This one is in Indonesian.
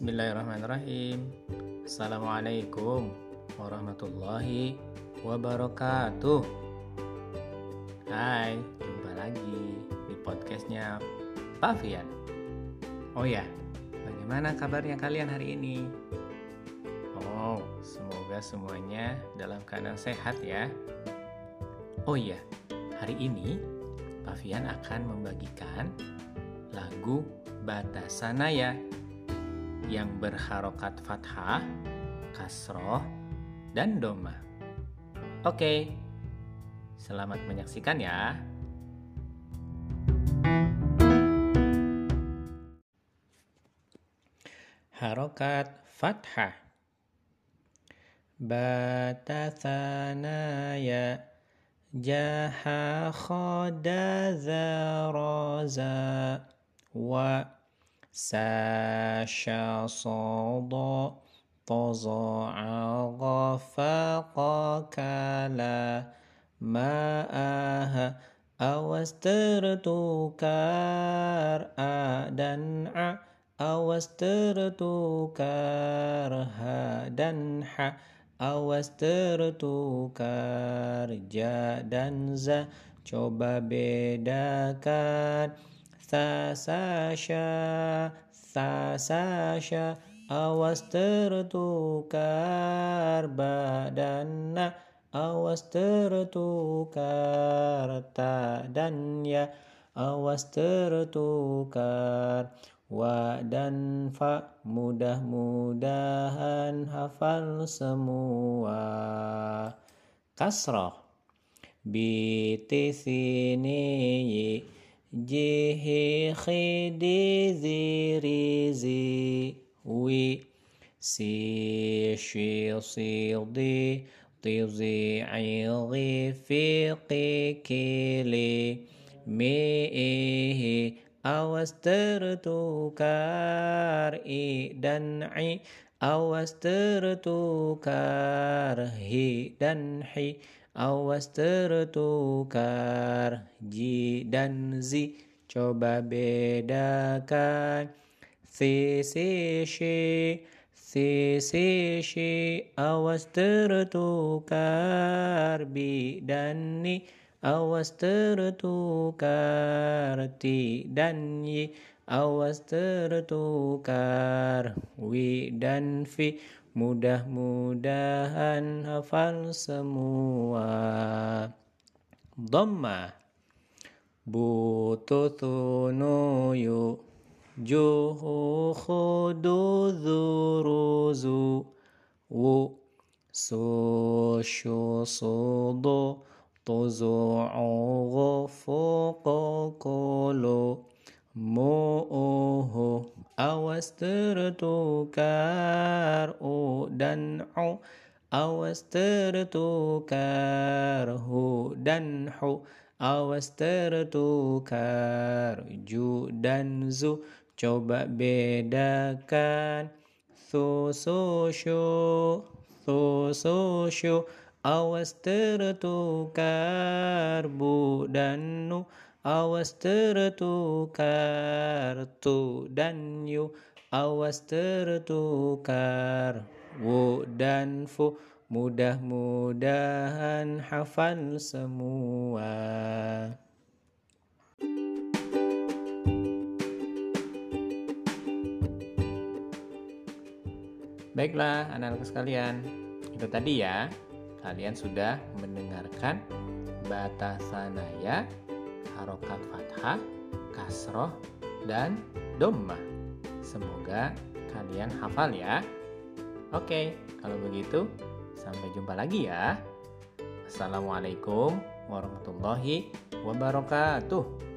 Bismillahirrahmanirrahim. Assalamualaikum warahmatullahi wabarakatuh. Hai, jumpa lagi di podcastnya Pak Fian. Oh ya, bagaimana kabarnya kalian hari ini? Oh, semoga semuanya dalam keadaan sehat ya. Oh iya, hari ini Pak Fian akan membagikan lagu Batasanaya yang berharokat fathah, kasroh, dan dhamma. Oke, selamat menyaksikan ya. Harokat fathah. Batasanaya jaha khoda zaraza wa sasha sodo toza'a ghafaqa kala ma'aha awas tertukar a dan a awas tertukar ha dan ha awas tertukar ja dan za coba bedakan Sasasha, awas tertukar badana, awas tertukar ta dan ya, awas tertukar wa dan fa, mudah-mudahan hafal semua. Kasroh biti sini jihi khidi zirizi wi si shi sildi tizi ilgi fiqi kili mi'ihi awas tertukar i dan i awas tertukar hi dan hi awas tertukar ji dan zi coba bedakan si shi awas tertukar bi dan ni awas tertukar ti dan yi awas tertukar wi dan fi mudah-mudahan hafal semua. Dhamma bututunuyu juhu khudu zuruzu wu sushu sudu tuzu'u ghufuqu kulu mu'uhu awas tertukar u dan u awas tertukar hu dan hu awas tertukar ju dan zu coba bedakan sushu awas tertukar bu dan nu awas tertukar tu dan yu awas tertukar wu dan fu mudah-mudahan hafal semua. Baiklah anak-anak sekalian, itu tadi ya, kalian sudah mendengarkan Batasanaya, harokat fathah, kasroh, dan dhamma. Semoga kalian hafal ya. Oke, kalau begitu sampai jumpa lagi ya. Assalamualaikum warahmatullahi wabarakatuh.